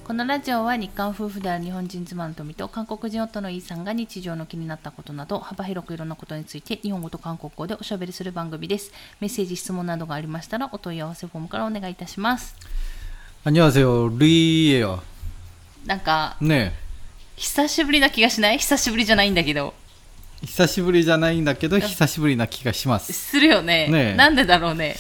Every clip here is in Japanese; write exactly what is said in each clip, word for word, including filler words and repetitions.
このラジオは日韓夫婦である日本人妻の富と韓国人夫のイーさんが日常の気になったことなど幅広くいろんなことについて日本語と韓国語でおしゃべりする番組です。メッセージ質問などがありましたらお問い合わせフォームからお願いいたします。 안녕하세요 루이예요。 なんかね久しぶりな気がしない？久しぶりじゃないんだけど。 久しぶりじゃないんだけど久しぶりな気がします。 するよね。ねなんでだろうね。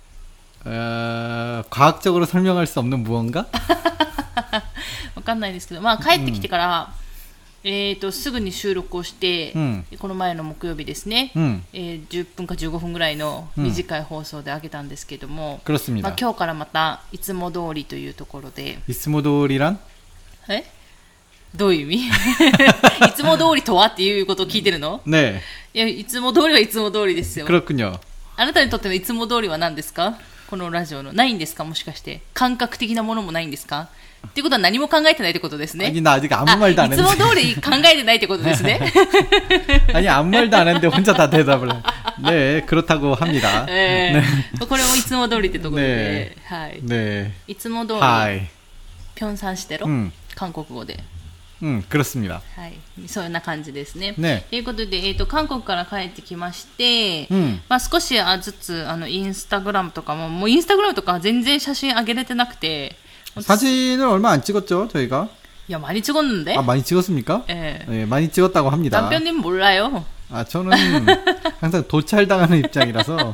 어, 과학적으로 설명할 수 없는 무언가? わかんないですけど、まあ帰ってきてから、うん、えーとすぐに収録をして、うん、この前の木曜日ですね、うん、えー、じゅっぷんかじゅうごふんぐらいの短い放送で上げたんですけども、 うん、 まあ、今日からまたいつも通りというところで。 いつも通り란？ え？どういう意味？いつも通りとはっていうことを聞いてるの？ ねえ。いや、いつも通りはいつも通りですよ。 그렇군요。 あなたにとってのいつも通りは何ですか？このラジオの。ないんですか？もしかして感覚的なものもないんですか？っていうことは何も考えてないってことですね。 아니、나 아직 아무 말도 안 했는데。 いつも通り考えてないってことですね。 아니、아무 말도 안 했는데 혼자 다 대답을 해。ね、그렇다고 합니다。 えー、これもいつも通りってところで、ね、はい。ね、いつも通り、はい、ピョンサンしてろ、うん、韓国語で。 うん、그렇습니다。 はい、そんな感じですね。ね、ということで、えーと、韓国から帰ってきまして、うん、まあ、少しずつあのインスタグラムとかも、もうインスタグラムとか全然写真上げれてなくて。 사진을 얼마 안 찍었죠, 저희가? 야, 많이 찍었는데? 아, 많이 찍었습니까? 네. 네, 많이 찍었다고 합니다. 남편님 몰라요. 아, 저는 항상 도찰당하는 입장이라서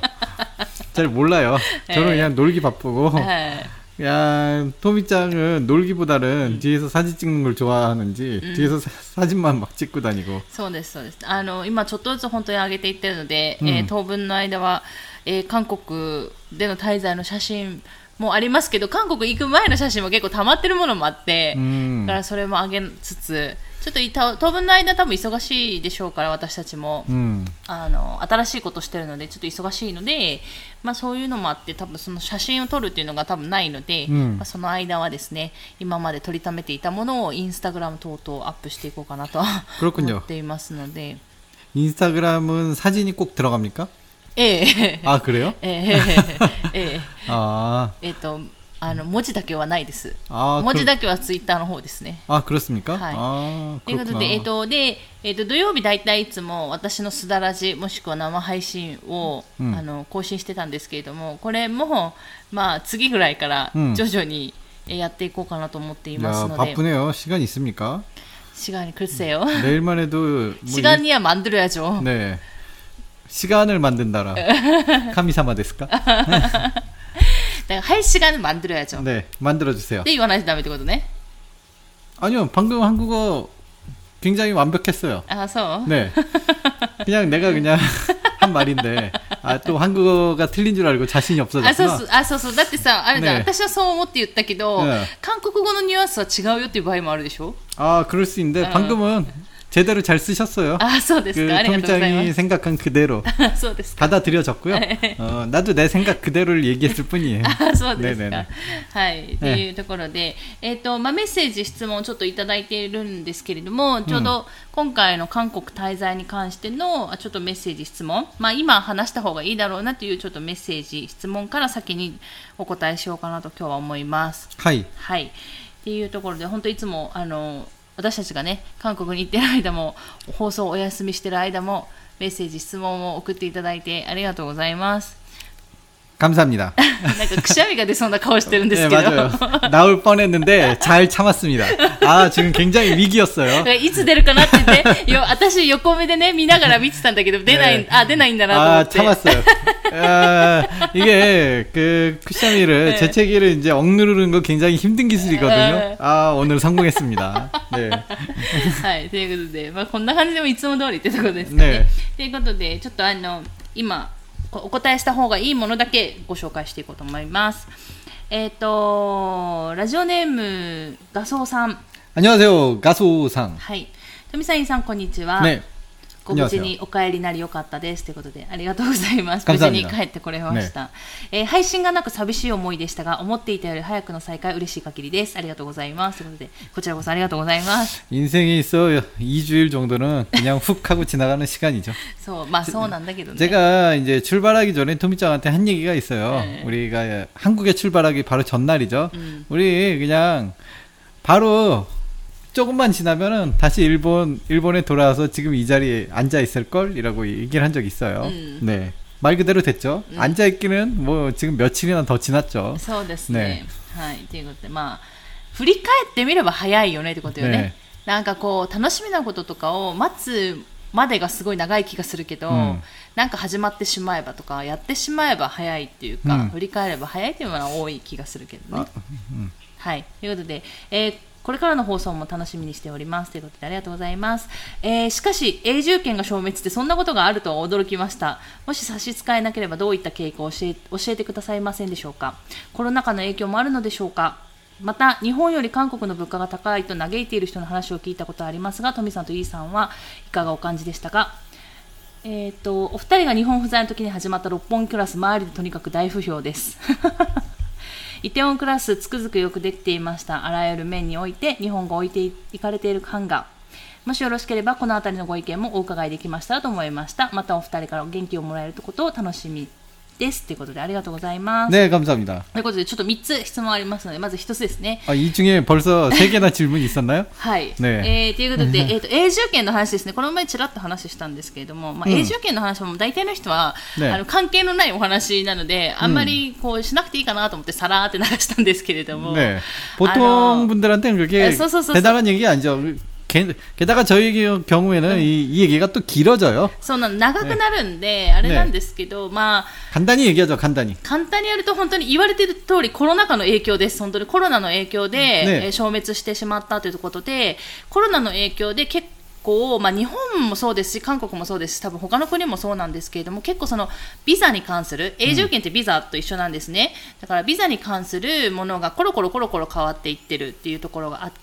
잘 몰라요. 저는 그냥 놀기 바쁘고. 네. 야, 토미짱은 놀기보다는 음. 뒤에서 사진 찍는 걸 좋아하는지 음. 뒤에서 사, 사진만 막 찍고 다니고. そうですそうです。あの今ちょっとずつ本当に上げていってるので、うんえー、当分の間は、えー、韓国での滞在の写真もありますけど、韓国行く前の写真も結構溜まってるものもあって、うん、だからそれも上げつつ、ちょっと当分の間多分忙しいでしょうから、私たちも、うん、あの新しいことしてるのでちょっと忙しいので、まあ、そういうのもあって多分その写真を撮るっていうのが多分ないので、うんまあ、その間はですね、今まで撮りためていたものをインスタグラム等々アップしていこうかなと思っていますので。 인스타그램은 사진이 꼭 들어갑니까? 예. 아, 그래요? 예. 예. 아. えっとあの文字だけはないです。あ文字だけはツイッターの方ですね。 あ、그렇습니까？ はい。 あということで、えっとで、えっと土曜日だいたいいつも私のすだらじもしくは生配信を、うん、あの更新してたんですけれども、これもまあ次ぐらいから徐々にやっていこうかなと思っていますので。 야、바쁘네요。시간 있습니까？ 시간이 글쎄요. 내일만 해도 시간이야 만들어야죠. 네. 시간을 만든다라. 카미사마ですか? 할 시간을 만들어야죠. 네, 만들어주세요. 네, 이완하지 다음에 되거든요. 아니요, 방금 한국어 굉장히 완벽했어요. 아, 서? 네. 그냥 내가 그냥 한 말인데, 아, 또 한국어가 틀린 줄 알고 자신이 없어졌구나. 아, そうそう。あ、そうそう。だってさ、あれだ、私はそう思って言ったけど、韓国語のニュアンスは違うよっていう場合もあるでしょ? 아, 그럴 수 있는데, 방금은 제대로 잘 쓰셨어요. 아, そうですか。 그 토미짱이 생각한 그대로 받아들여졌고요. 어, 나도 내 생각 그대로를 얘기했을 뿐이에요. あ、そうですか。はい。というところで、えっと、まあ、メッセージ、質問ちょっといただいているんですけれども、ちょうど今回の韓国滞在に関してのちょっとメッセージ、質問、まあ、今話した方がいいだろうなというちょっとメッセージ、質問から先にお答えしようかなと今日は思います。 はい。 はい。っていうところで、本当いつも、あの、私たちがね、韓国に行ってる間も、放送をお休みしてる間も、メッセージ、質問を送っていただいてありがとうございます。 감사합니다. なんかくしゃみが出そうな顔してるんですけど。 네, 맞아요. 나올 뻔했는데 잘 참았습니다. 아, 지금 굉장히 위기였어요. いつ出るかなって言って、よ私横目でね見ながら見てたんだけど、出ない、 네. あ、出ないんだなと思って。 아, 참았어요. 아, 이게 그 쿠샤미를 네. 재채기를 이제 억누르는 거 굉장히 힘든 기술이거든요. 아, 오늘 성공했습니다. 네. はい、ということで、まあこんな感じでもいつも通りってところですかね。ということで、ちょっとあの今お答えした方がいいものだけご紹介していこうと思います。えっと、ラジオネームガソウさん。 안녕하세요、ガソウさん。 はい。富さん、さん、こんにちは。ね。ご無事にお帰りなりよかったですということで、ありがとうございます。無事に帰ってこれました、ねえー、配信がなく寂しい思いでしたが、思っていたより早くの再開嬉しい限りです。ありがとうございますということで、こちらこそありがとうございます。 인생에 있어 이 주일 정도는 그냥 훅 하고 지나가는 시간이죠. そう、まあそうなんだけどね。 제가 이제 출발하기 전에 토미짱한테 한 얘기가 있어요. 네. 우리가 한국에 출발하기 바로 전날이죠. 음. 우리 그냥 바로 조금만 지나면은 다시 일본 일본에 돌아와서 지금 이 자리에 앉아 있을 걸이라고 얘기를 한 적이 있어요. 음. 네. 말 그대로 됐죠. 음. 앉아 있기는 뭐 지금 며칠이나 더 지났죠. そうですね。はい。ということでまあ振り返ってみれば早いよねってことよね。ね、なんかこう楽しみなこととかを待つまでがすごい長い気がするけど、うん、なんか始まってしまえばとかやってしまえば早いっていうか、うん、振り返れば早いっていうのは多い気がするけどね。うん、はい。ということで、えー、これからの放送も楽しみにしておりますということでありがとうございます。えー、しかし永住権が消滅ってそんなことがあるとは驚きました。もし差し支えなければどういった経過を教え、教えてくださいませんでしょうか。コロナ禍の影響もあるのでしょうか。また日本より韓国の物価が高いと嘆いている人の話を聞いたことはありますが、トミさんとイーさんはいかがお感じでしたか。えー、とお二人が日本不在の時に始まった六本木クラス、周りでとにかく大不評ですイテウォンクラスつくづくよくできていました。あらゆる面において日本が置いていかれている感が、もしよろしければこのあたりのご意見もお伺いできましたらと思いました。またお二人から元気をもらえることを楽しみですということでありがとうございます。 ね、감사합니다。 ということでちょっとみっつ質問ありますので、まずひとつですね。 あ、이 중에 벌써 세 개나 질문이 있었나요? はい。ね、えー、ということで、えっと永住権の話ですね。この前ちらっと話したんですけれども、まあ、永住権の話も大体の人は、うん、あの関係のないお話なので、あんまりこうしなくていいかなと思ってさらーって流したんですけれども。 ね、보통분들한테는그게 대단한 얘기가 아니죠. 게다가 저희 경우에는 음. 이, 이 얘기가 또 길어져요. そうなん長くなるんで、ね、あれなんですけど、まあ 간단히 얘기하죠. 간단히. 簡単にやると本当に言われている通りコロナ禍の影響です。本当にコロナの影響で、ね、えー、消滅してしまったということで、コロナの影響で結構まあ、日本もそうですし韓国もそうですし、多分他の国もそうなんですけれども、結構そのビザに関する永住権ってビザと一緒なんですね、うん、だからビザに関するものがコロコロコロコロ変わっていってるっていうところがあって、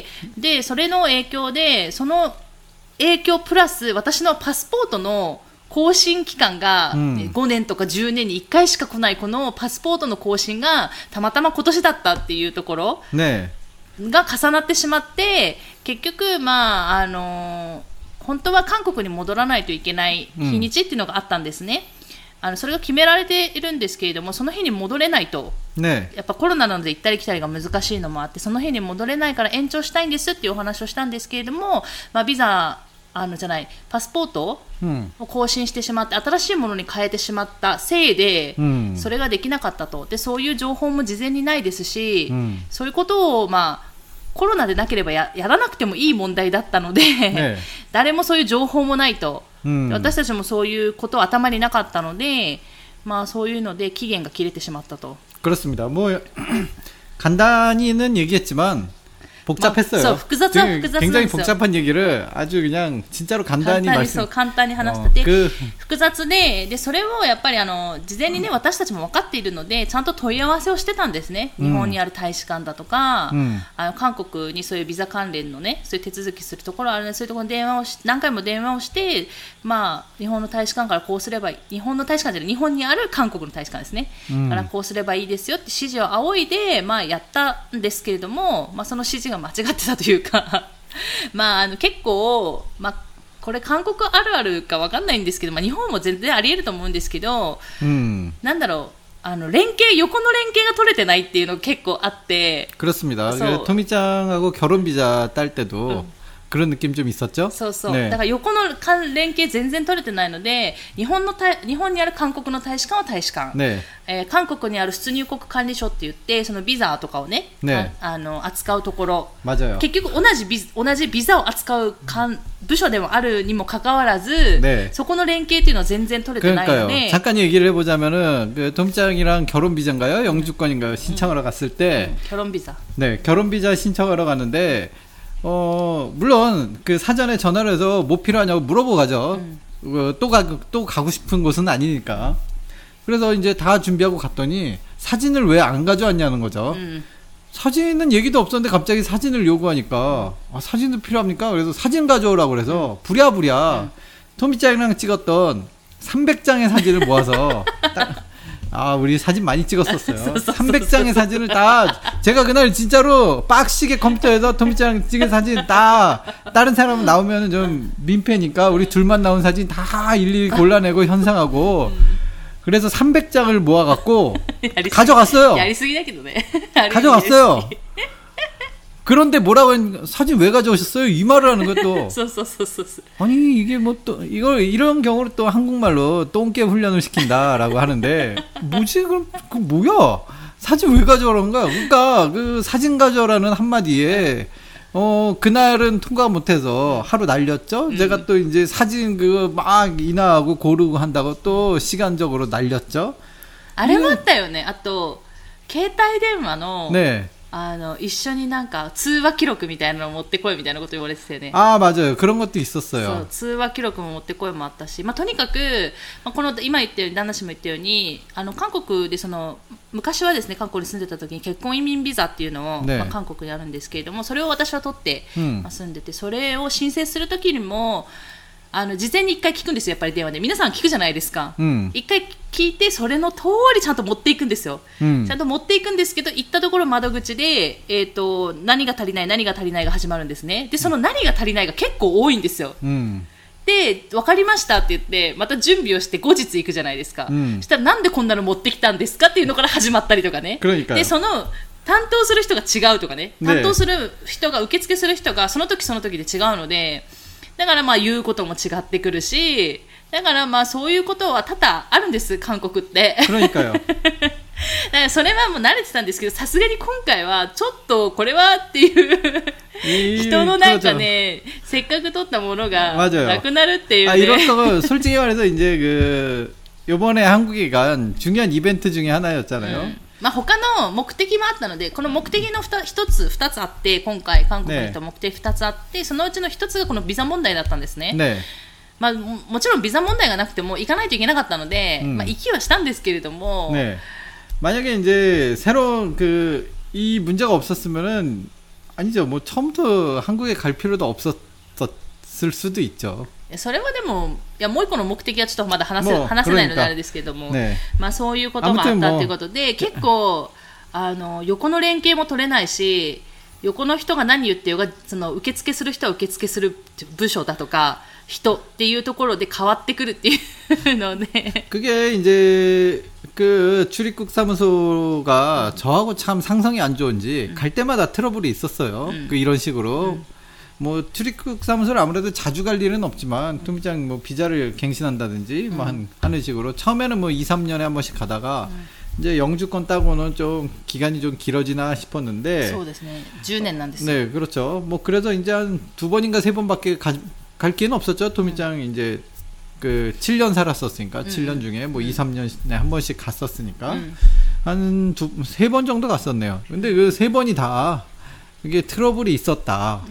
でそれの影響でその影響プラス私のパスポートの更新期間がごねんとかじゅうねんにいっかいしか来ないこのパスポートの更新がたまたま今年だったっていうところ、ね、が重なってしまって、結局、まああのー、本当は韓国に戻らないといけない日にちっていうのがあったんですね、うん、あのそれが決められているんですけれども、その日に戻れないと、ね、やっぱコロナなので行ったり来たりが難しいのもあって、その日に戻れないから延長したいんですっていうお話をしたんですけれども、まあ、ビザあのじゃないパスポートを更新してしまって、うん、新しいものに変えてしまったせいで、うん、それができなかったと。でそういう情報も事前にないですし、うん、そういうことを、まあ、コロナでなければ や, やらなくてもいい問題だったので、ね、誰もそういう情報もないと、うん、私たちもそういうことは頭になかったので、まあ、そういうので期限が切れてしまったと。 그렇습니다. 뭐 간단히는 얘기했지만 복잡했어요. 뭐,複雑は複雑 굉장히 복잡한 얘기를 아주 그냥 진짜로 간단히 말씀. 簡単に話してて、그複雑で、でそれをやっぱりあの事前にね私たちも分かっているのでちゃんと問い合わせをしてたんですね。日本にある大使館だとか、うん、あの韓国にそういうビザ関連のねそういう手続きするところあるので、そういうところに電話をし何回も電話をして、まあ日本の大使館からこうすればいい、日本の大使館じゃない日本にある韓国の大使館ですね、うん、からこうすればいいですよって指示を仰いで、まあやったんですけれども、まあその指示が間違ってたというかまあ、あの結構、まあ、これ韓国あるあるか分かんないんですけど、まあ、日本も全然あり得ると思うんですけど、うん、なんだろうあの連携横の連携が取れてないっていうのが結構あって。 그렇습니다. 토미짱하고 결혼 비자 딸 때도、うん그런 느낌 좀 있었죠? そうそう。だから横の連携全然取れてないので、日本の日本にある韓国の大使館は大使館、ねえー、韓国にある出入国管理所って言ってそのビザとかをね、ねああの扱うところ、結局同じビ同じビザを扱う部署でもあるにもかかわらず、ね、そこの連携っていうのは全然取れてないので。 잠깐 얘기를 해보자면은 그 토미짱이랑 결혼 비자인가요? 영주권인가요? 신청하러 갔을 때 음, 결혼 비자. 네, 결혼 비자 신청하러 갔는데. 어, 물론, 그 사전에 전화를 해서 뭐 필요하냐고 물어보고 가죠. 음. 어, 또 가, 또 가고 싶은 곳은 아니니까. 그래서 이제 다 준비하고 갔더니 사진을 왜 안 가져왔냐는 거죠. 음. 사진은 얘기도 없었는데 갑자기 사진을 요구하니까, 아, 사진도 필요합니까? 그래서 사진 가져오라고 그래서 음. 부랴부랴 음. 토미짱이랑 찍었던 삼백 장의 사진을 모아서 딱, 아, 우리 사진 많이 찍었었어요. 삼백 장의 사진을 다, 제가 그날 진짜로 빡시게 컴퓨터에서 토미짱 찍은 사진 다, 다른 사람 나오면 좀 민폐니까 우리 둘만 나온 사진 다 일일이 골라내고 현상하고, 그래서 삼백 장을 모아갖고, 가져갔어요. 가져갔어요. 그런데 뭐라고 했, 사진 왜 가져오셨어요? 이 말을 하는 것도. 아니, 이게 뭐 또, 이걸, 이런 경우를 또 한국말로 똥개 훈련을 시킨다라고 하는데, 뭐지? 그럼, 그 뭐야? 사진 왜 가져오라는 거야? 그러니까, 그 사진 가져오라는 한마디에, 어, 그날은 통과 못해서 하루 날렸죠? 음. 제가 또 이제 사진 그거 막 인화하고 고르고 한다고 또 시간적으로 날렸죠? あれもあったよね。あと、携帯電話の、 네. あの一緒になんか通話記録みたいなのを持ってこいみたいなこと言われてたよね。 아 맞아요. 그런 것도 있었어요. そう通話記録も持ってこいもあったし、まあ、とにかく、まあ、この今言ったように旦那氏も言ったようにあの韓国でその昔はですね韓国に住んでた時に結婚移民ビザっていうのを、ねまあ、韓国にあるんですけれどもそれを私は取って、うんまあ、住んでてそれを申請する時にもあの事前に一回聞くんですよやっぱり電話で皆さん聞くじゃないですか、うん、一回聞いてそれの通りちゃんと持っていくんですよ、うん、ちゃんと持っていくんですけど行ったところ窓口で、えーと、何が足りない何が足りないが始まるんですねでその何が足りないが結構多いんですよ、うん、で分かりましたって言ってまた準備をして後日行くじゃないですか、うん、そしたらなんでこんなの持ってきたんですかっていうのから始まったりとかねでその担当する人が違うとかね担当する人が受付する人がその時その時で違うのでだからまあ言うことも違ってくるしだからまあそういうことは多々あるんです韓国って 그러니까요 だからそれはもう慣れてたんですけどさすがに今回はちょっとこれはっていう人のなんかねせっかく取ったものがなくなるっていうね 아 이렇다고 솔직히 말해서 이제 그 요번에 한국에 간 중요한 이벤트 중에 하나였잖아요 음. まあ、他の目的もあったのでこの目的の一つ二つあって今回韓国に行った目的二つあって、ね、そのうちの一つがこのビザ問題だったんですね、ねまあ、もちろんビザ問題がなくても行かないといけなかったので、うんまあ、行きはしたんですけれども、 ね、만약에 이제 새로운 그 이 문제가 없었으면은 아니죠 뭐 처음부터 한국에 갈 필요도 없었을 수도 있죠. それはでもいやもう一個の目的はちょっとまだ話せ、話せないのであれですけども、ねまあ、そういうこともあったということで結構あの横の連携も取れないし横の人が何言ってよがその受付する人は受付する部署だとか人っていうところで変わってくるっていうので 그게 이제 그 출입국 사무소가 저하고 참 상성이 안 좋은지 음. 갈 때마다 트러블이 있었어요. 음. 그 이런 식으로 음. 뭐 출입국 사무소를 아무래도 자주 갈 일은 없지만 토미짱 뭐 비자를 갱신한다든지 음. 뭐 한, 하는 식으로 처음에는 뭐 이, 삼 년에 한 번씩 가다가 음. 이제 영주권 따고는 좀 기간이 좀 길어지나 싶었는데 そうですね. 십年なんです. 네, 그렇죠. 뭐 그래서 이제 한 두 번인가 세 번밖에 가, 갈 기회는 없었죠. 토미짱 음. 이제 그 칠 년 살았었으니까 음. 칠 년 중에 뭐 음. 이, 삼 년에 한 번씩 갔었으니까 음. 한 두, 세 번 정도 갔었네요. 근데 그 세 번이 다 이게 트러블이 있었다.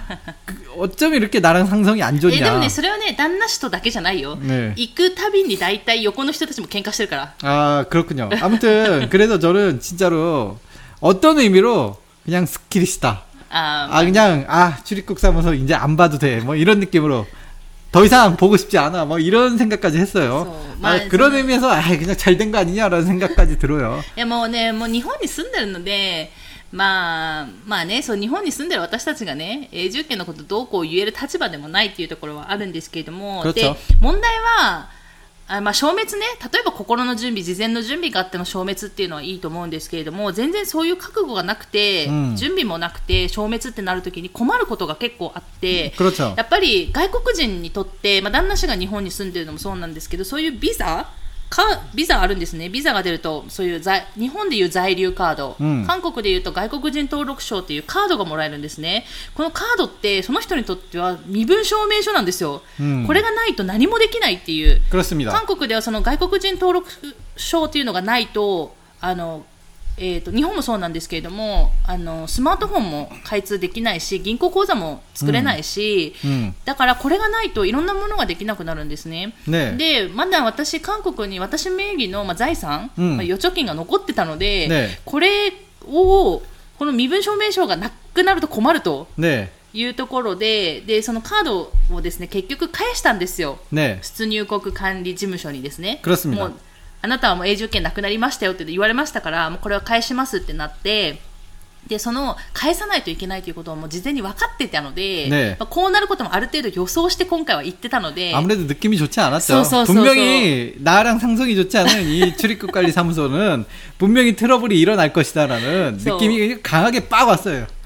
어쩜 이렇게 나랑 상성이 안 좋냐. でもね、それはね、旦那氏とだけじゃないよ。ね. 行くたびに大体横の人たちも喧嘩してるから. 아, 그렇군요. 아무튼 그래서 저는 진짜로 어떤 의미로 그냥 스킬이시다. 아, 아 그냥 아 출입국 사무소 이제 안 봐도 돼. 뭐 이런 느낌으로 더 이상 보고 싶지 않아. 뭐 이런 생각까지 했어요. So, 아, 그런 의미에서 아 그냥 잘 된 거 아니냐라는 생각까지 들어요. いやもうね、もう日本に住んでるので。まあ、まあね、そう日本に住んでる私たちがね、永住権のことどうこう言える立場でもないっていうところはあるんですけれども、で問題はあ、まあ、消滅ね、例えば心の準備、事前の準備があっての消滅っていうのはいいと思うんですけれども、全然そういう覚悟がなくて、うん、準備もなくて消滅ってなるときに困ることが結構あって、やっぱり外国人にとって、まあ、旦那氏が日本に住んでるのもそうなんですけど、そういうビザかビザあるんですね。ビザが出るとそういう在日本でいう在留カード、うん、韓国でいうと外国人登録証っていうカードがもらえるんですね。このカードってその人にとっては身分証明書なんですよ、うん、これがないと何もできないっていう。韓国ではその外国人登録証っていうのがないとあのえー、と日本もそうなんですけれどもあのスマートフォンも開通できないし銀行口座も作れないし、うんうん、だからこれがないといろんなものができなくなるんですね。ねでまだ私韓国に私名義の、まあ、財産、うんまあ、預貯金が残ってたので、ね、これをこの身分証明書がなくなると困ると、ねいうところで、でそのカードをですね結局返したんですよ、ね、出入国管理事務所にですね。もうあなたはもう永住権なくなりましたよって言われましたからもうこれは返しますってなってでその返さないといけないということをもう事前に分かってたので、ねまあ、こうなることもある程度予想して今回は言ってたので 아무래도 느낌이 좋지 않았죠. 분명히 나랑 상성이 좋지 않은 이 출입국관리사무소는 분명히 트러블이 일어날 것이다라는 느낌이 강하게 빡 왔어요.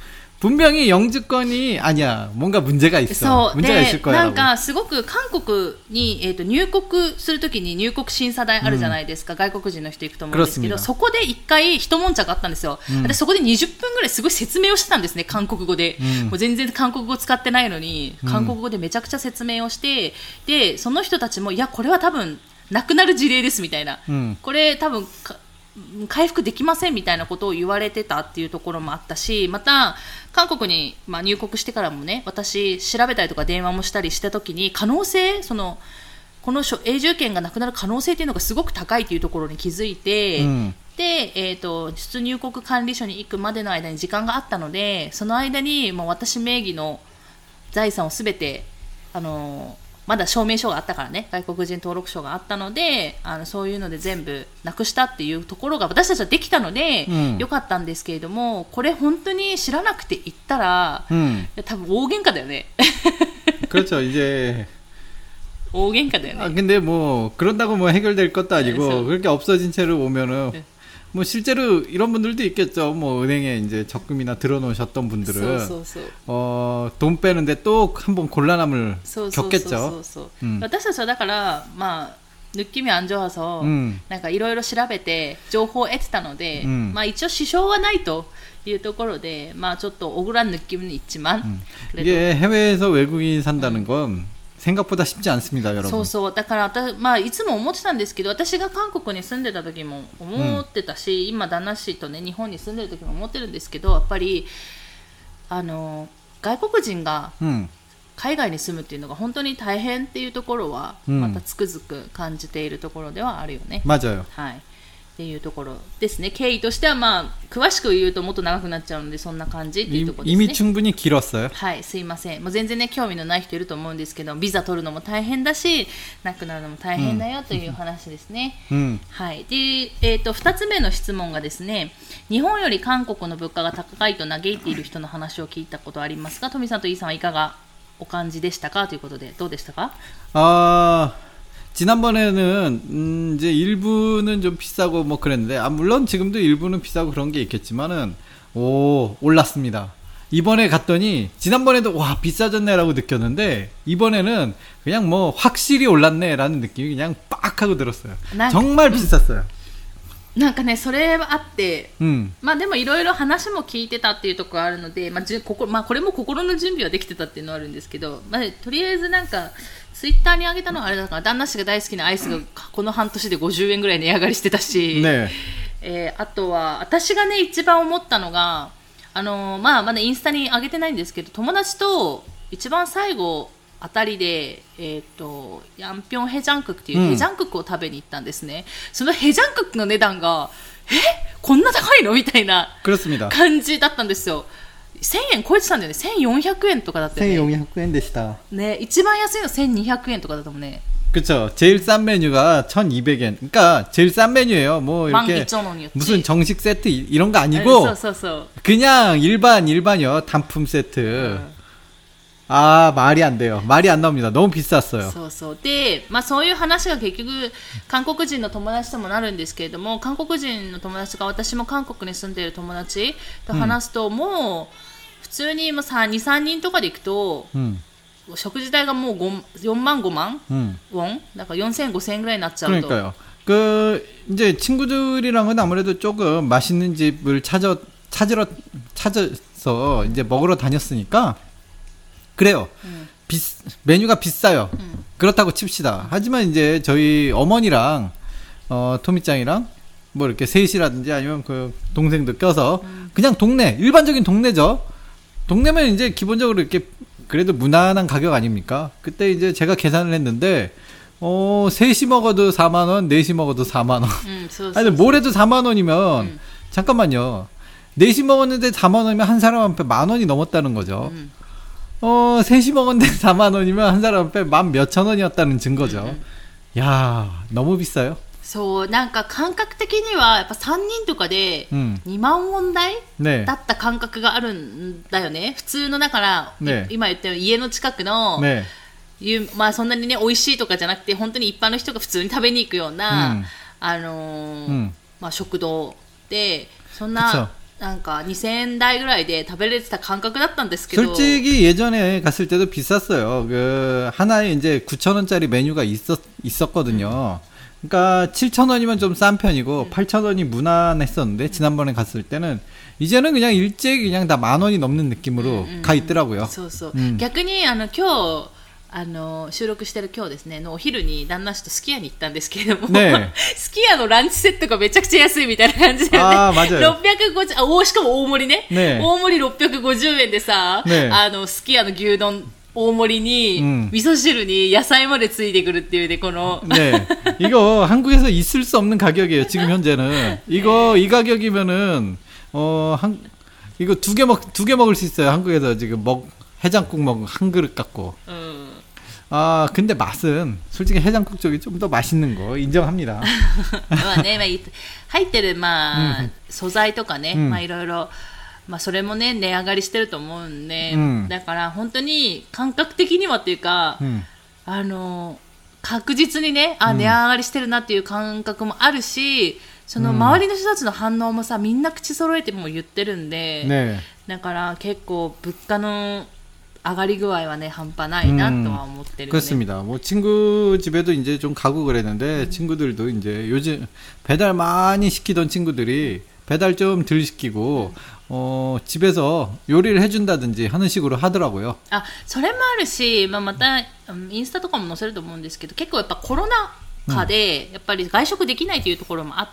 분명히 영주권이 아니야. 뭔가 문제가 있어. 문제가 있을 거야. なんかすごく韓国に、えー、と入国するときに入国審査台あるじゃないですか、うん、外国人の人行くと思うんですけど、そこで一回一悶着があったんですよ、うん、私そこでにじゅっぷんぐらいすごい説明をしてたんですね、韓国語で、うん、もう全然韓国語使ってないのに韓国語でめちゃくちゃ説明をして、うん、でその人たちもいやこれは多分なくなる事例ですみたいな、うん、これ多分回復できませんみたいなことを言われてたっていうところもあったし、また韓国に、まあ、入国してからもね、私調べたりとか電話もしたりしたときに可能性、そのこの永住権がなくなる可能性っていうのがすごく高いというところに気づいて、うん、で、えーと、出入国管理所に行くまでの間に時間があったので、その間にもう私名義の財産をすべてあのまだ証明書があったからね、外国人登録証があったので、あのそういうので全部なくしたっていうところが私たちはできたので、うん、よかったんですけれども、これ本当に知らなくて行ったら、うん、多分大喧嘩だよね。 그렇죠. 이제 大喧嘩だよね。 아 근데 뭐 그런다고 뭐 해결될 것도 아니고 그렇게 없어진 채로 오면은 네. 뭐 실제로 이런 분들도 있겠죠. 뭐 은행에 이제 적금이나 들어놓으셨던 분들은 어, 돈 빼는데 또 한번 곤란함을 겪겠죠. 私たちはだからまあ느낌이 안 좋아서 음. なんかいろいろ調べて情報を得てたので、 음. まあ一応支障はないというところで、まあちょっと억울한 느낌은 있지만 음. 이게 해외에서 외국인 산다는 건 생각보다 쉽지 않습니다, 여러분. そうそう。だから私、まあ、いつも思ってたんですけど、私が韓国に住んでた時も思ってたし、うん、今旦那氏とね日本に住んでる時も思ってるんですけど、やっぱりあの外国人が海外に住むっていうのが本当に大変っていうところは、うん、またつくづく感じているところではあるよね。 맞아요。 はい。っていうところですね。経緯としてはまあ詳しく言うともっと長くなっちゃうのでそんな感じっていうところですね。 이미충분히길었어요。 はい、すいません。もう全然ね興味のない人いると思うんですけど、ビザ取るのも大変だし、なくなるのも大変だよという話ですね。うん、はい。で、えっとふたつめの質問がですね、日本より韓国の物価が高いと嘆いている人の話を聞いたことありますか？トミさんとイーさんはいかがお感じでしたかということでどうでしたか？ あー。 지난번에는 음 이제 일부는 좀 비싸고 뭐 그랬는데 아 물론 지금도 일부는 비싸고 그런 게 있겠지만은 오 올랐습니다. 이번에 갔더니 지난번에도 와 비싸졌네라고 느꼈는데 이번에는 그냥 뭐 확실히 올랐네라는 느낌이 그냥 빡 하고 들었어요. 정말 비쌌어요. なんかねそれはあって、うん、まあでもいろいろ話も聞いてたっていうところあるので、まあじここまあこれも心の準備はできてたっていうのはあるんですけど、まあとりあえずなんかツイッターに上げたのはあれだから旦那氏が大好きなアイスがこの半年でごじゅうえんぐらい値上がりしてたし、ねえー、あとは私がね一番思ったのがあのー、まあまだインスタに上げてないんですけど、友達と一番最後あたりで、えー、とヤンピョンヘジャンククっていうヘジャンククを食べに行ったんですね、うん、そのヘジャンククの値段がえこんな高いのみたいな感じだったんですよ。せんえん超えてたんだよね。せんよんひゃくえんとかだったよね。 せんよんひゃくえんでした。 ね、一番安いのせんにひゃくえんとかだったもんね。 그쵸. 제일 싼 메뉴가 천이백 엔. 그러니까 제일 싼 메뉴예요. 뭐 이렇게 무슨 정식 세트 이런 거 아니고 그냥 일반 일반이요. 단품 세트. 음. 아 말이 안 돼요. 말이 안 나옵니다. 너무 비쌌어요. そうそう。で、まあそういう話が結局韓国人の友達ともなるんですけれども、韓国人の友達が私も韓国に住んでいる友達と話すと、うん、もう普通にもさにさんにんとかで行くと、うん、食事代がもうよんまんごまんウォン、だからよんせんごせん円ぐらいになっちゃうと。 그러니까요. 그 이제 친구들이랑은 아무래도 조금 맛있는 집을 찾아 찾으러 찾아서 이제 먹으러 다녔으니까. 그래요. 음. 비, 메뉴가 비싸요. 음. 그렇다고 칩시다. 하지만 이제 저희 어머니랑 어, 토미짱이랑 뭐 이렇게 셋이라든지 아니면 그 동생도 껴서 음. 그냥 동네 일반적인 동네죠. 동네면 이제 기본적으로 이렇게 그래도 무난한 가격 아닙니까? 그때 이제 제가 계산을 했는데 어 셋이 먹어도 사만 원, 넷이 먹어도 사만 원. 음, so, so, 아니 뭘 해도 사만 원이면 음. 잠깐만요. 넷이 먹었는데 사만 원이면 한 사람 앞에 만 원이 넘었다는 거죠. 음. 어, 셋이 먹었는데 사만 원이면 한 사람 앞에 만 몇천 원이었다는 증거죠. 음. 야, 너무 비싸요. そう、なんか感覚的にはやっぱさんにんとかでにまんウォン台だった感覚があるんだよね。普通のだから、ね、今言ったように家の近くの、ね、まあそんなにね美味しいとかじゃなくて本当に一般の人が普通に食べに行くような、うん、あのーうん、まあ食堂でそんななんかにせんえん台ぐらいで食べれてた感覚だったんですけど 솔직히 예전에 갔을 때도 비쌌어요. 그 하나에 이제 구천 원짜리 메뉴가 있었 있었거든요. 그러니까 칠천 원이면 좀 싼 편이고 음. 팔천 원이 무난했었는데 지난번에 갔을 때는 이제는 그냥 일제히 그냥 다 만 원이 넘는 느낌으로 음, 음. 가 있더라고요. そうそう。 음. 逆にあの今日あの収録してる今日ですねのお昼に旦那氏とすき家に行ったんですけれども、ね、すき家のランチセットがめちゃくちゃ安いみたいな感じで、ね、あろっぴゃくごじゅうあおしかも大盛り ね, ね大盛りろっぴゃくごじゅうえんでさ、ね、あのすき家の牛丼大盛りに、うん、味噌汁に野菜までついてくるっていうねこの 네 이거 한국에서 있을 수 없는 가격이에요 지금 현재는 이거 이 가격이면은 어 한 이거 두 개 먹 두 개 먹을 수 있어요 한국에서 지금 먹 해장국 먹 한 그릇 갖고. 음. 아 근데 맛은 솔직히 해장국 쪽이 좀 더 맛있는 거 인정합니다. まあね、まあ、入ってるまあ、うん、素材とかね、うん、まあいろいろまあそれもね値上がりしてると思うんで、うん、だから本当に感覚的にはっていうか、うん、あの確実にねあ値上がりしてるなっていう感覚もあるし、その周りの人たちの反応もさみんな口揃えても言ってるんで、ね、だから結構物価の上がり具合はね半端ないなとは思ってる、ね. 그렇습니다. 뭐 친구 집에도 이제 좀 가고 그랬는데 음. 친구들도 이제 요즘 배달 많이 시키던 친구들이 배달 좀 덜 시키고 음. 어 집에서 요리를 해준다든지 하는 식으로 하더라고요. 아, それもあるし、まあまたインスタとかも載せると思うんですけど、結構やっぱコロナ禍でやっぱり外食できないというところもあって、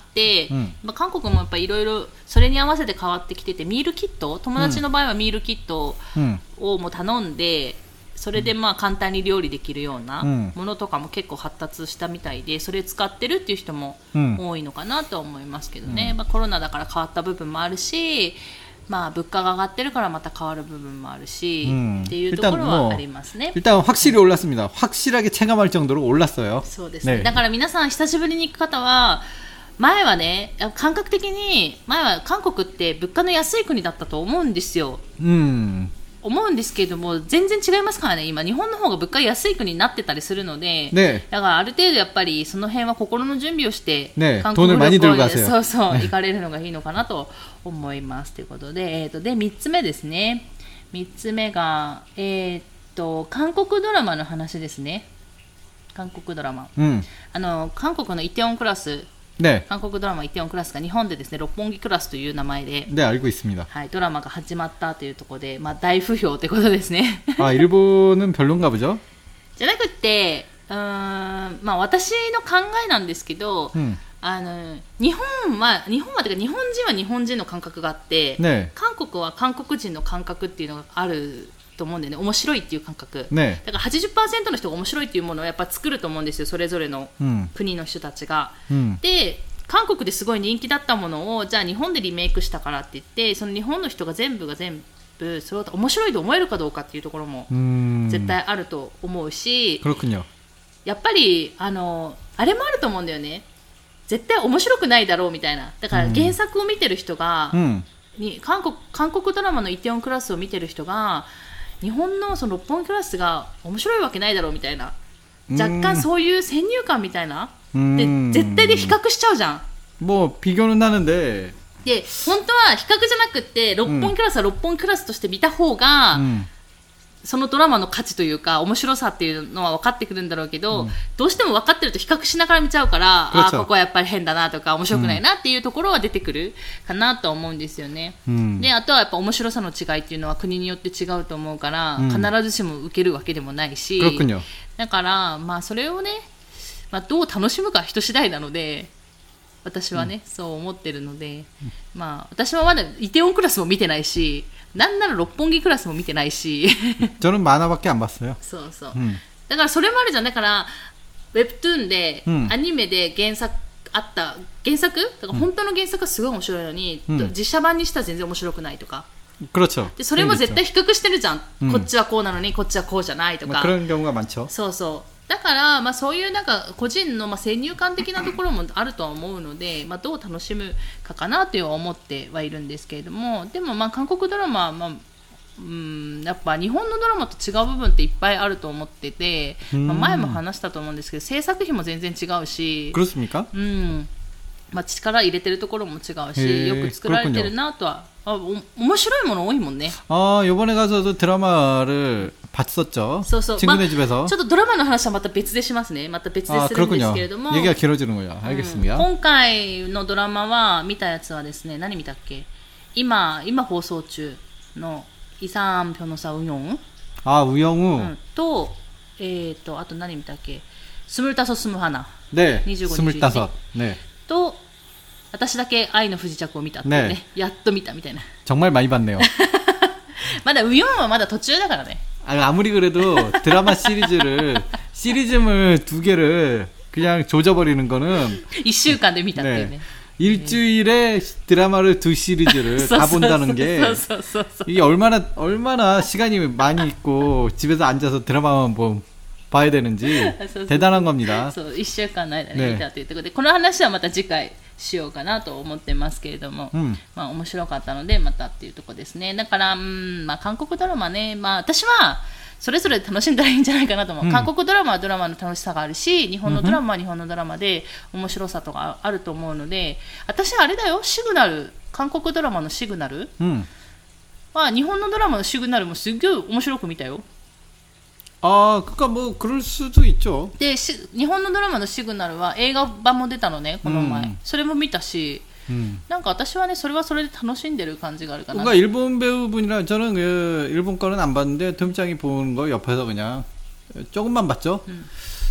うんまあ、韓国もやっぱりいろいろそれに合わせて変わってきてて、ミールキット友達の場合はミールキットをもう頼んで、それでまあ簡単に料理できるようなものとかも結構発達したみたいで、それ使ってるっていう人も多いのかなとは思いますけどね、うんまあ、コロナだから変わった部分もあるし、まあ、物価が上がってるからまた変わる部分もあるし、うん、っていうところはありますね。 일단 확실히 올랐습니다. 확실하게 체감할 정도로 올랐어요. そうですね。ねだから皆さん久しぶりに行く方は前はね感覚的に前は韓国って物価の安い国だったと思うんですよ。うん思うんですけれども全然違いますからね。今日本の方が物価安い国になってたりするので、ね、だからある程度やっぱりその辺は心の準備をして、ね、韓国旅行にそうそう行かれるのがいいのかなと思いますということで、えーと、でみっつめですね。みっつめが、えーと、韓国ドラマの話ですね。韓国ドラマ、うん、あの韓国のイテウォンクラス네韓国ドラマイテウォンクラスが日本でですね六本木クラスという名前で、 네 알고 있습니다. はい、ドラマが始まったというところで、まあ大不評ってことですね。 あ、일본은 별론가 보죠? じゃなくて、うーん、まあ私の考えなんですけど、うん、あの日本は日本はというか日本人は日本人の感覚があって、ね、韓国は韓国人の感覚っていうのがある。と思うんでね、面白いっていう感覚、ね、だから はちじゅっパーセント の人が面白いっていうものをやっぱ作ると思うんですよ、それぞれの国の人たちが、うん、で韓国ですごい人気だったものをじゃあ日本でリメイクしたからって言ってその日本の人が全部が全部それを面白いと思えるかどうかっていうところも絶対あると思うし、やっぱりあのあれもあると思うんだよね、絶対面白くないだろうみたいな。だから原作を見てる人が、うん、に韓国、韓国ドラマのイテウォンクラスを見てる人が日本のその六本木クラスが面白いわけないだろうみたいな、若干そういう先入観みたいなで絶対で比較しちゃうじゃん。 もう비교는 나는데 で本当は比較じゃなくて六本木クラスは六本木クラスとして見た方が、うん、そのドラマの価値というか面白さっていうのは分かってくるんだろうけど、うん、どうしても分かってると比較しながら見ちゃうから、あここはやっぱり変だなとか面白くないなっていうところは出てくるかなと思うんですよね、うん、であとはやっぱ面白さの違いっていうのは国によって違うと思うから、うん、必ずしも受けるわけでもないし、だからまあそれをね、まあ、どう楽しむか人次第なので私はね、うん、そう思ってるので、まあ私はまだイテウォンクラスも見てないし、なんなら六本木クラスも見てないし 저는 만화밖에 안 봤어요. そうそう、うん、だからそれもあるじゃん。だからウェブトゥーンで、うん、アニメで原作あった原作だから本当の原作はすごい面白いのに、うん、実写版にしたら全然面白くないとか、 그렇죠. でそれも絶対比較してるじゃん、うん、こっちはこうなのにこっちはこうじゃないとか、 그런 경우가 많죠. そうそう。だから、まあ、そういうなんか個人のまあ先入観的なところもあるとは思うので、まあ、どう楽しむかかなという思ってはいるんですけれども、でもまあ韓国ドラマは、まあうん、やっぱ日本のドラマと違う部分っていっぱいあると思ってて、まあ、前も話したと思うんですけど制作費も全然違うし。 그렇습니까? うんまあ、力入れてるところも違うし、よく作られてるなとは、あ、お面白いもの多いもんね。 ああ、요번에 가서도 드라마를 봤었죠. そうそう。 친구네 집에서. ちょっとドラマの話はまた別でしますね。また別でするんですけれども。 얘기가 길어지는군요. 알겠습니다. 今回のドラマは見たやつはですね、何見たっけ？今今放送中のイサン・ピョノサ・ウヨン。 あ、ウヨン、うん、 と、えっとあと何見たっけ？スムルタソスムハナ。 ね。にじゅうご、にじゅういち。ね。 と私だけ愛の不時着を見たっていうね。ね、やっと見たみたいな。 정말 많이 봤네요. まだウヨンはまだ途中だからね。 아무리 그래도 드라마 시리즈를 시리즈물 두 개를 그냥 조져버리는 거는 いっしゅうかんで見たっていうね。 네. 일주일에 드라마를 두 시리즈를 다 본다는 게 이게 얼마나 얼마나 시간이 많이 있고 집에서 앉아서 드라마만 보, 봐야 되는지 대단한 겁니다. いっしゅうかんの間に見たということで、この話はまた次回しようかなと思ってますけれども、うん、まあ面白かったのでまたっていうところですね。だから、うん、まあ韓国ドラマね、まあ私はそれぞれ楽しんだらいいんじゃないかなと思う、うん、韓国ドラマはドラマの楽しさがあるし、日本のドラマは日本のドラマで面白さとかあると思うので、私あれだよ、シグナル、韓国ドラマのシグナル、うん、まあ日本のドラマのシグナルもすっごい面白く見たよ。 ああ、그러니까 뭐 그럴 수도 있죠。 で、日本のドラマのシグナルは映画版も出たのね、この前、うん、それも見たし、うん、なんか私はね、それはそれで楽しんでる感じがあるかな。 그러니까 일본 배우분이라 저는 그 일본 거는 안 봤는데 톰짱이 보는 거 옆에서 그냥 조금만 봤죠. 음.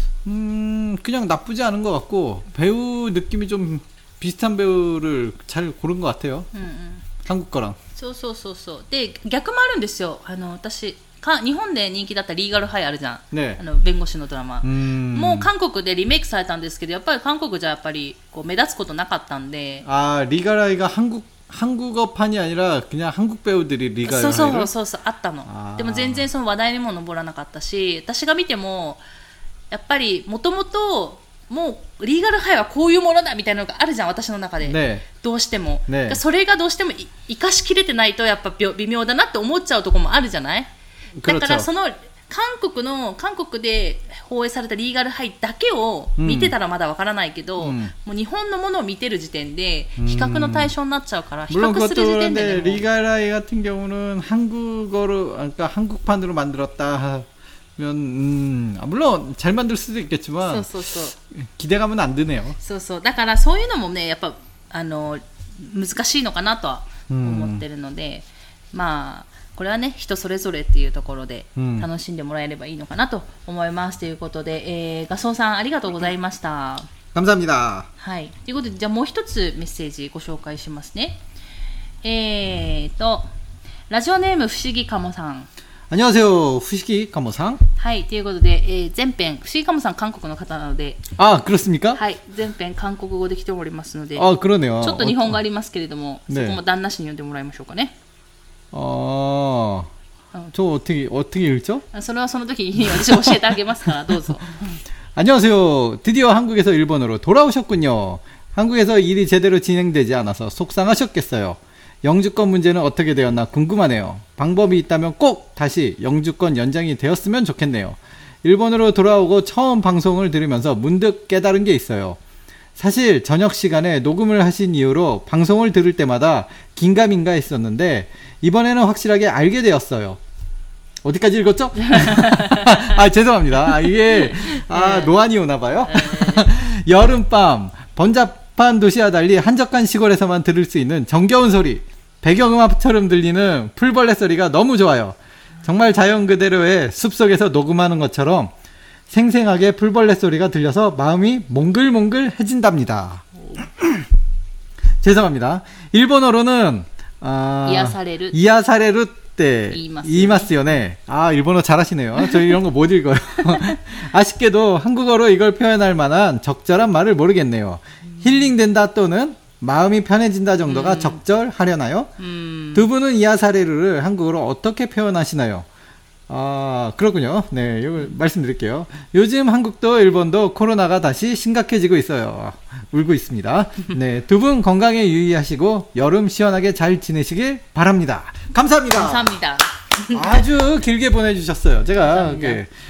음, 그냥 나쁘지 않은 것 같고 배우 느낌이 좀 비슷한 배우를 잘 고른 것 같아요. 음, 음. 한국 거랑. そうそうそうそう。で、逆もあるんですよ。あの私か日本で人気だったリーガルハイあるじゃん、ね、あの弁護士のドラマ、もう韓国でリメイクされたんですけど、やっぱり韓国じゃやっぱりこう目立つことなかったんで、 あ、リーガルハイが韓国한국어판이 아니라 그냥 한국 배우들이 리가 하이를? そうそうそうそう、あったの。でも全然その話題にも上らなかったし、私が見てもやっぱりもともともうリーガルハイはこういうものだみたいなのがあるじゃん、私の中で、ね、どうしても、ね、それがどうしても生かしきれてないとやっぱ微妙だなって思っちゃうところもあるじゃない。だからその韓国の韓国で放映されたリーガルハイだけを見てたらまだわからないけど、うん、もう日本のものを見てる時点で比較の対象になっちゃうから、比較する時点でね。 リーガルハイ같은 경우는 한국어로, 그러니까 한국판으로 만들었다 하면, 음, 물론 잘 만들 수도 있겠지만 そうそうそう、 기대감은 안 드네요. そうそう、だからそういうのもね、やっぱあの難しいのかなとは思ってるので、うん、まあこれはね、人それぞれっていうところで楽しんでもらえればいいのかなと思います、うん、ということで、えー、ガソンさんありがとうございました。 감사합니다。 はい、ということで、じゃあもう一つメッセージご紹介しますね。えーとラジオネーム不思議かもさん。 안녕하세요、不思議かもさん。 はい、ということで、えー、前編、不思議かもさん韓国の方なので、 あ、그렇습니까？ はい、前編韓国語で来ておりますので、 あ、그러네요。ちょっと日本語ありますけれども、ね、そこも旦那氏に読んでもらいましょうかね。 ああ、저 어떻게 어떻게 읽죠? それはその時に私教えてあげますからどうぞ。 안녕하세요. 드디어 한국에서 일본으로 돌아오셨군요. 한국에서 일이 제대로 진행되지 않아서 속상하셨겠어요. 영주권 문제는 어떻게 되었나 궁금하네요. 방법이 있다면 꼭 다시 영주권 연장이 되었으면 좋겠네요. 일본으로 돌아오고 처음 방송을 들으면서 문득 깨달은 게 있어요. 사실 저녁 시간에 녹음을 하신 이후로 방송을 들을 때마다 긴가민가 했었는데 이번에는 확실하게 알게 되었어요. 어디까지 읽었죠? 아, 죄송합니다. 아, 이게 아, 노안이 오나봐요. 여름밤 번잡한 도시와 달리 한적한 시골에서만 들을 수 있는 정겨운 소리, 배경음악처럼 들리는 풀벌레 소리가 너무 좋아요. 정말 자연 그대로의 숲속에서 녹음하는 것처럼 생생하게 풀벌레 소리가 들려서 마음이 몽글몽글해진답니다. 죄송합니다. 일본어로는 아, 이야사레루 이야사레루 때 이마스요네. 아, 일본어 잘하시네요. 저 이런 거 못 읽어요. 아쉽게도 한국어로 이걸 표현할 만한 적절한 말을 모르겠네요. 음. 힐링된다 또는 마음이 편해진다 정도가 음. 적절하려나요? 음. 두 분은 이야사레루를 한국어로 어떻게 표현하시나요? 아, 그렇군요. 네, 이걸 말씀드릴게요. 요즘 한국도 일본도 코로나가 다시 심각해지고 있어요. 울고 있습니다. 네, 두 분 건강에 유의하시고 여름 시원하게 잘 지내시길 바랍니다. 감사합니다. 감사합니다. 아주 길게 보내주셨어요. 제가 이렇게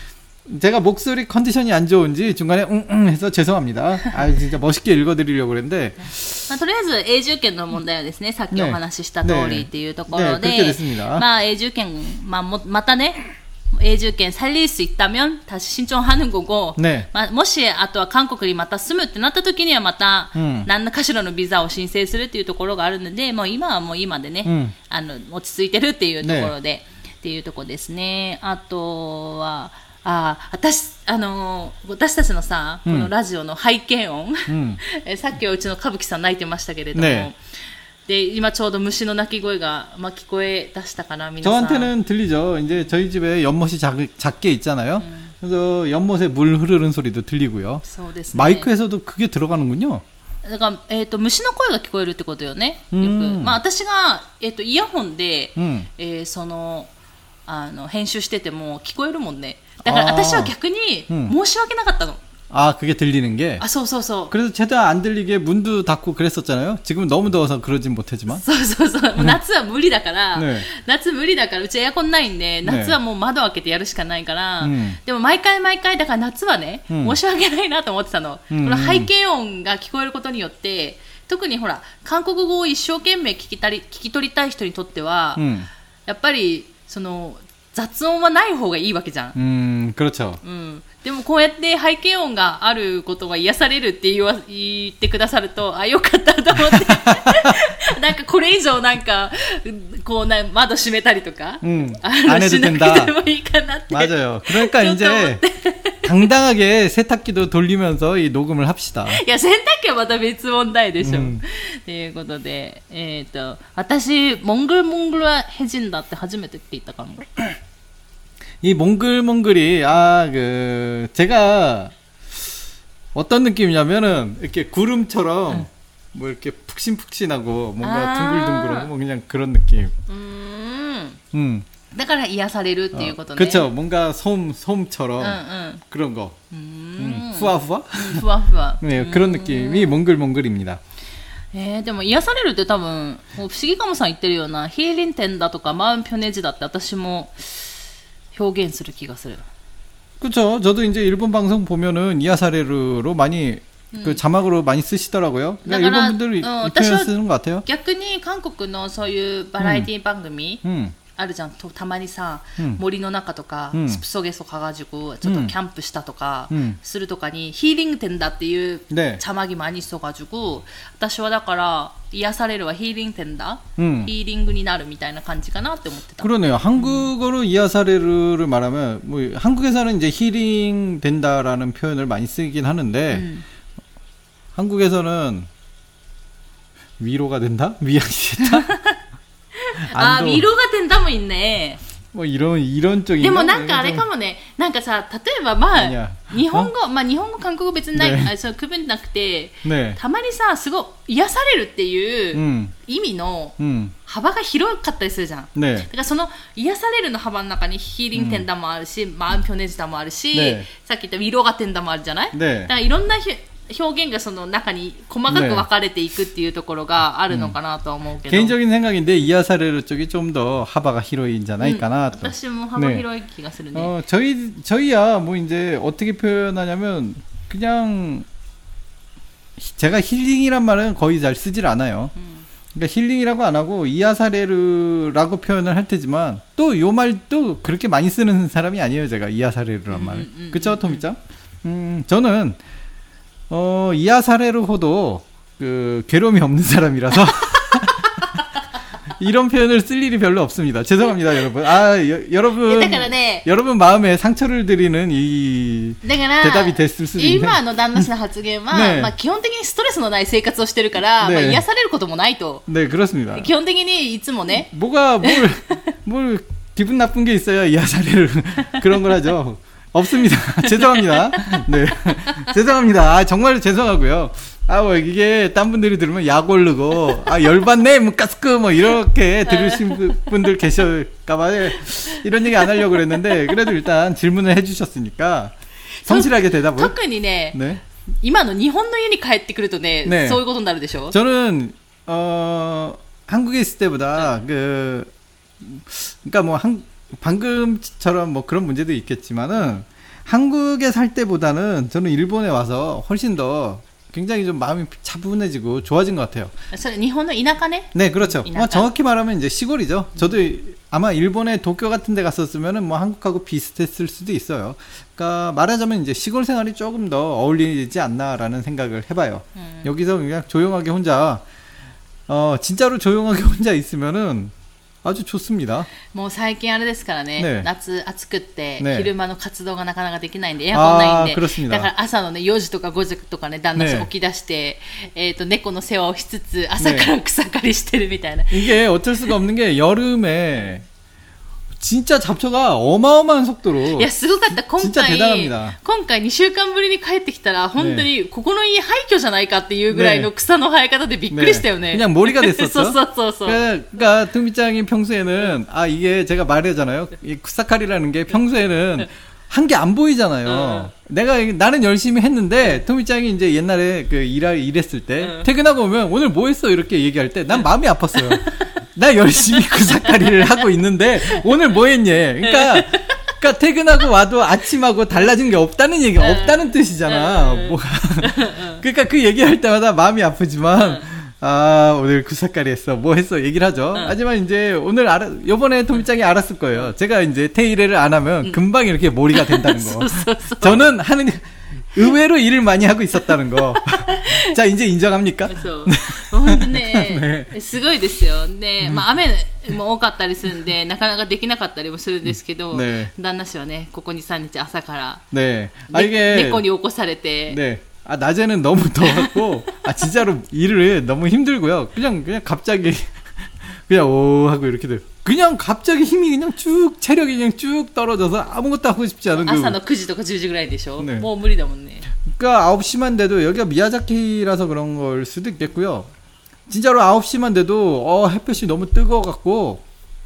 제가 목소리 컨디션이 안 좋은지 중간에 응응 해서 죄송합니다. 아 진짜 멋있게 읽어드리려고 그랬는데 まあ、とりあえず永住権の問題はですね、さっきお話しした通りっていうところで、 네, 네, 네, まあ永住権、まあ、もまたね永住権살릴 수 있다면 다시 신청하는 거고, 네. まあ、もしあとは韓国にまた住むってなった時にはまた何かしらのビザを申請するっていうところがあるので、もう今はもう今でね、うん、あの落ち着いてるっていうところで、ね、っていうところですね。あとはあ私あの私たちのさ、このラジオの背景音、うん、さっきはうちの歌舞伎さん泣いてましたけれども、ね、で今ちょうど虫の鳴き声が、まあ、聞こえ出したかな皆さん。 저한테는 들리죠. 이제 저희 집에 연못이 작, 작게 있잖아요. 음. 그래서 연못에 물 흐르는 소리도 들리고요. 마이크에서도 그게 들어가는군요. だから、えーと、虫の声が聞こえるってことよね。よく、まあ、私が、えーと、イヤホンで、うんえー、そのあの編集してても聞こえるもんね。だから私は逆に申し訳なかったの。 아, 그게 들리는 게? 아, 소소소. 그래서 최대한 안 들리게 문도 닫고 그랬었잖아요. 지금은 너무 더워서 그러진 못하지만. 소소소. 夏は無理だから、ね、夏無理だから、うちエアコンないんで、夏はもう窓開けてやるしかないから、ね、でも毎回毎回、だから夏はね、うん、申し訳ないなと思ってたの。うん、この背景音が聞こえることによって、特にほら、韓国語を一生懸命聞きたり、聞き取りたい人にとっては、うん、やっぱり、その、雑音はない方がいいわけじゃん。 うん、그렇죠。 うん。でもこうやって背景音があることが癒されるって言わ言ってくださると、あ、よかったと思って。なんかこれ以上なんか、こうな窓閉めたりとか、うん、あのしなくてもいいかなって。 맞아요。 그러니까 이제 당당하게 세탁기도 돌리면서 이 녹음을 합시다. いや、洗濯機はまた別問題でしょ。ということで、えっと、私、몽글몽글해진다って初めてって言ったかも。 이 몽글몽글이 아 그 제가 어떤 느낌이냐면은 이렇게 구름처럼 응. 뭐 이렇게 푹신푹신하고 뭔가 아~ 둥글둥글하고 뭐 그냥 그런 느낌. 음. 음. だから癒されるっていうことね。 그렇죠. 뭔가 솜 솜처럼 응, 응. 그런 거. 음. 음. 후아후아? 후아후아. 네, 그런 느낌이 몽글몽글입니다. えー、でも癒されるって多分不思議かもさん言ってるようなヒーリンテンだとかマウンピョネジだって私も 表現する気がする. 그렇죠. 저도 이제 일본 방송 보면은 이야사레루로 많이 음. 그 자막으로 많이 쓰시더라고요. 그러니까 일본 분들이 어, 이 표현 쓰는 것 같아요. 逆に韓国のそういうバラエティ番組 음. あるじゃん。たまにさ、うん、森の中とか、うん、スプソゲソ가가지고ちょっとキャンプしたとか、うん、するとかにヒーリング店だっていう茶まぎ많이 써가지고私はだから癒されるはヒーリング店だ、ヒーリングになるみたいな感じかなって思ってた. 그러네요. 한국어로 이야사레루를 말하면 뭐 한국에서는 이제 힐링 된다라는 표현을 많이 쓰긴 하는데 음. 한국에서는 위로가 된다? 위안이 됐다? 아, 위로가 된다もいいね. 뭐 이런 이런 쪽인가? でもなんかあれかもね。なんかさ、例えばまあ日本語、まあ日本語韓国語別にない、あ、そう区分なくて、たまにさすごい癒されるっていう意味の幅が広かったりするじゃん。だからその癒されるの幅の中にヒーリングテンダもあるし、マウンピョネジダもあるし、さっき言ったウィロガテンダもあるじゃない。だからいろんな表現がその中に細かく分かれていくっていうところがあるのかなと思うけど。 개인적인 생각인데 이야사레루 쪽이 좀 더 하바가 히로이인잖아요. 私も幅広い気がするね. 어, 저희 저희야 뭐 이제 어떻게 표현하냐면 그냥 제가 힐링이란 말은 거의 잘 쓰질 않아요. 음. 그러니까 힐링이라고 안 하고 이야사레루라고 표현을 할 테지만 또 요 말도 그렇게 많이 쓰는 사람이 아니에요. 제가 이야사레루란 말. 음, 음, 그쵸, 토미짱? 음, 저는 어, 이야사레루호도 그 괴로움이 없는 사람이라서 이런 표현을 쓸 일이 별로 없습니다. 죄송합니다, 여러분. 아, 여, 여러분, 여러분 마음에 상처를 드리는 이 대답이 됐을 수도 있는데. 今の旦那氏の発言は、ね、まあ基本的にストレスのない生活をしてるから、ね、まあ癒されることもないと. 네, 그렇습니다. 基本的にいつもね. 뭐가 뭘, 뭘 기분 나쁜 게 있어야 이야사레루 그런 걸 하죠. 없습니다. 죄송합니다. 네. 죄송합니다. 아, 정말 죄송하고요. 아, 뭐, 이게, 딴 분들이 들으면 약 오르고, 아, 열받네, 무가스크, 뭐, 이렇게 들으신 분들 계실까봐, 이런 얘기 안 하려고 그랬는데, 그래도 일단 질문을 해주셨으니까, 성실하게 대답을. 特にね, 네. 今の日本の家に帰ってくるとね, 네. そういうことになるでしょ? 저는, 어, 한국에 있을 때보다, 네. 그, 그니까 뭐, 한, 방금처럼 뭐 그런 문제도 있겠지만은 한국에 살 때보다는 저는 일본에 와서 훨씬 더 굉장히 좀 마음이 차분해지고 좋아진 것 같아요. 일본의 이나카네? 네, 그렇죠. 뭐 정확히 말하면 이제 시골이죠. 저도 아마 일본의 도쿄 같은 데 갔었으면은 뭐 한국하고 비슷했을 수도 있어요. 그러니까 말하자면 이제 시골 생활이 조금 더 어울리지 않나라는 생각을 해봐요. 음. 여기서 그냥 조용하게 혼자, 어, 진짜로 조용하게 혼자 있으면은 아주 좋습니다. もう最近あれですからね、 ね夏暑くって、 ね昼間の活動がなかなかできないんで、エアコンないんで、 あー、그렇습니다。 だから朝のね、よじとかごじとかね、旦那さん起き出して、えっと、猫の世話をしつつ、朝から草刈りしてるみたいな。 이게 어쩔 수가 없는 게 여름에 진짜 잡초가 어마어마한 속도로. いや、すごかった。今 진짜 回、 대단합니다. 今回にしゅうかんぶりに帰ってきたら、本当に、ここの家廃墟じゃないかっていうぐらいの草の生え方でびっくりしたよね。 그냥 머리가 됐었어. そうそうそうそう。 그러니까 투미짱이 평소에는 아 이게 제가 말하잖아요. 이 쿠사카리라는 게 평소에는 한 게 안 보이잖아요. 내가 나는 열심히 했는데 토미짱이 이제 옛날에 그 일할 일했을 때 퇴근하고 오면 오늘 뭐 했어 이렇게 얘기할 때 난 마음이 아팠어요. 나 열심히 쿠사카리를 하고 있는데 오늘 뭐 했니? 그러니까 그러니까 퇴근하고 와도 아침하고 달라진 게 없다는 얘기, 없다는 뜻이잖아. 뭐 그러니까 그 얘기할 때마다 마음이 아프지만 아 오늘 쿠사카리 했어, 뭐 했어 얘기를 하죠. 하지만 이제 오늘 알아, 요번에 토미짱이 알았을 거예요. 제가 이제 테이레를 안 하면 금방 이렇게 몰이가 된다는 거. 저는 하는 의외로 일을 많이 하고 있었다는 거. 자, 이제 인정합니까? そう本当ね、すごいですよ。で、まあ雨も多かったりするんで、なかなかできなかったりもするんですけど、 ね、 旦那氏はね、ここに、さんにち朝から、 ね、あ、이게 猫に起こされて、 네. 아, 낮에는 너무 더웠고, 아, 진짜로 일을 너무 힘들고요. 그냥, 그냥 갑자기, 그냥 오 하고 이렇게 돼요. 그냥 갑자기 힘이 그냥 쭉, 체력이 그냥 쭉 떨어져서 아무것도 하고 싶지 않은 그. 朝のくじとかじゅうじぐらいでしょ? 네. もう無理だもんね. 그러니까 아홉 시만 돼도 여기가 미야자키라서 그런 걸 수도 있겠고요. 진짜로 아홉 시만 돼도 어, 햇볕이 너무 뜨거워갖고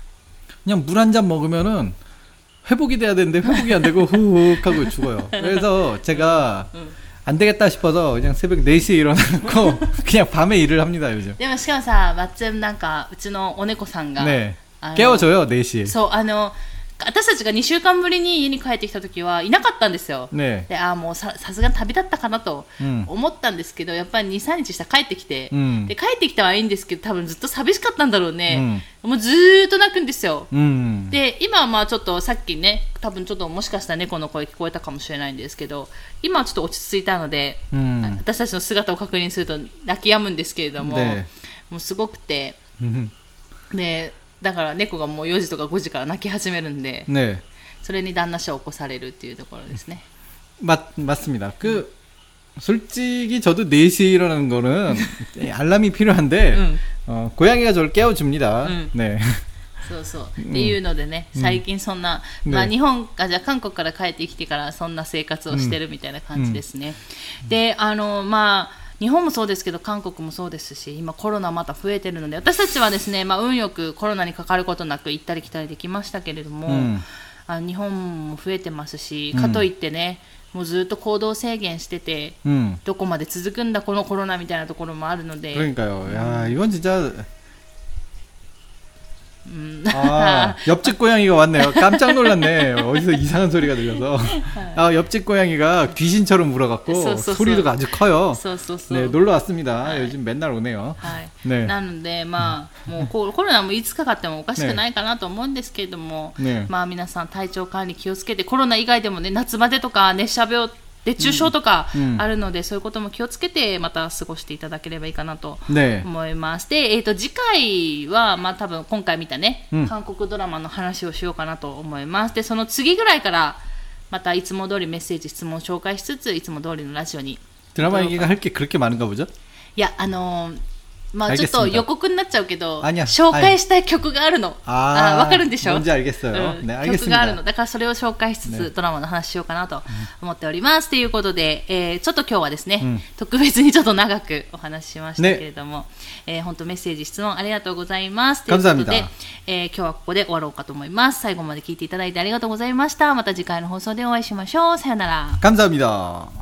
그냥 물 한 잔 먹으면은 회복이 돼야 되는데 회복이 안 되고 후훅 하고 죽어요. 그래서 제가 안 되겠다 싶어서 그냥 새벽 네 시에 일어나고 그냥 밤에 일을 합니다, 요즘. でもしかもさ、マッツンなんかうちのお猫さんが 네. 깨워줘요, 네 시에. そう、あの私たちがにしゅうかんぶりに家に帰ってきた時はいなかったんですよ。 ね、 で、あ、もう さ, さすがに旅立ったかなと思ったんですけど、うん、やっぱりに、さんにちしたら帰ってきて、うん、で帰ってきたはいいんですけど、多分ずっと寂しかったんだろうね。うん、もうずーっと泣くんですよ。うん、で、今はまあちょっとさっきね、多分ちょっともしかしたら猫の声聞こえたかもしれないんですけど、今はちょっと落ち着いたので、うん、私たちの姿を確認すると泣き止むんですけれども、ね、もうすごくて、で、だから猫がもうよじとかごじから泣き始めるんで、ね、それに旦那氏を起こされるっていうところですね。 맞, 맞습니다. 그, 음. 솔직히 저도 네 시에 일어나는 거는 알람이 필요한데, 음. 어, 고양이가 저를 깨워줍니다. 음. 네. そうそう。っていうのでね、最近そんな、まあ日本、あ、じゃあ韓国から帰ってきてからそんな生活をしてるみたいな感じですね。で、あの、まあ、日本もそうですけど韓国もそうですし、今コロナまた増えてるので、私たちはですね、まあ運よくコロナにかかることなく行ったり来たりできましたけれども、うん、あ日本も増えてますし、かといってね、うん、もうずっと行動制限してて、うん、どこまで続くんだこのコロナみたいなところもあるので。 그러니까요. 야, 이건 진짜 음. 아, 옆집 고양이가 왔네요. 깜짝 놀랐네. 어디서 이상한 소리가 들려서. 아, 옆집 고양이가 귀신처럼 물어갖고 소리도 아주 커요. 네, 놀러 왔습니다. 요즘 맨날 오네요. 네. なので、まあ、もうコロナもいつかかってもおかしくないかなと思うんですけれども、ね、まあ皆さん体調管理気をつけて、コロナ以外でもね、夏バテとか熱射病熱中症とかあるので、うん、そういうことも気をつけてまた過ごしていただければいいかなと思います。ね、で、えーと、次回は、まあ、多分今回見たね、うん、韓国ドラマの話をしようかなと思います。で、その次ぐらいからまたいつも通りメッセージ質問を紹介しつつ、いつも通りのラジオに。 ドラマ얘기가 할 게 그렇게 많은가 보죠? いや、あのーまあちょっと予告になっちゃうけど、紹介したい曲があるの。ああ、わかるんでしょ？ 뭔지 알겠어요。 うん、ね、曲があるの。だからそれを紹介しつつ、ね、ドラマの話しようかなと思っております。と、ね、いうことで、えー、ちょっと今日はですね、うん、特別にちょっと長くお話ししましたけれども、ね、えー、本当メッセージ質問ありがとうございます。ということで、えー、今日はここで終わろうかと思います。最後まで聞いていただいてありがとうございました。また次回の放送でお会いしましょう。さよなら。 감사합니다。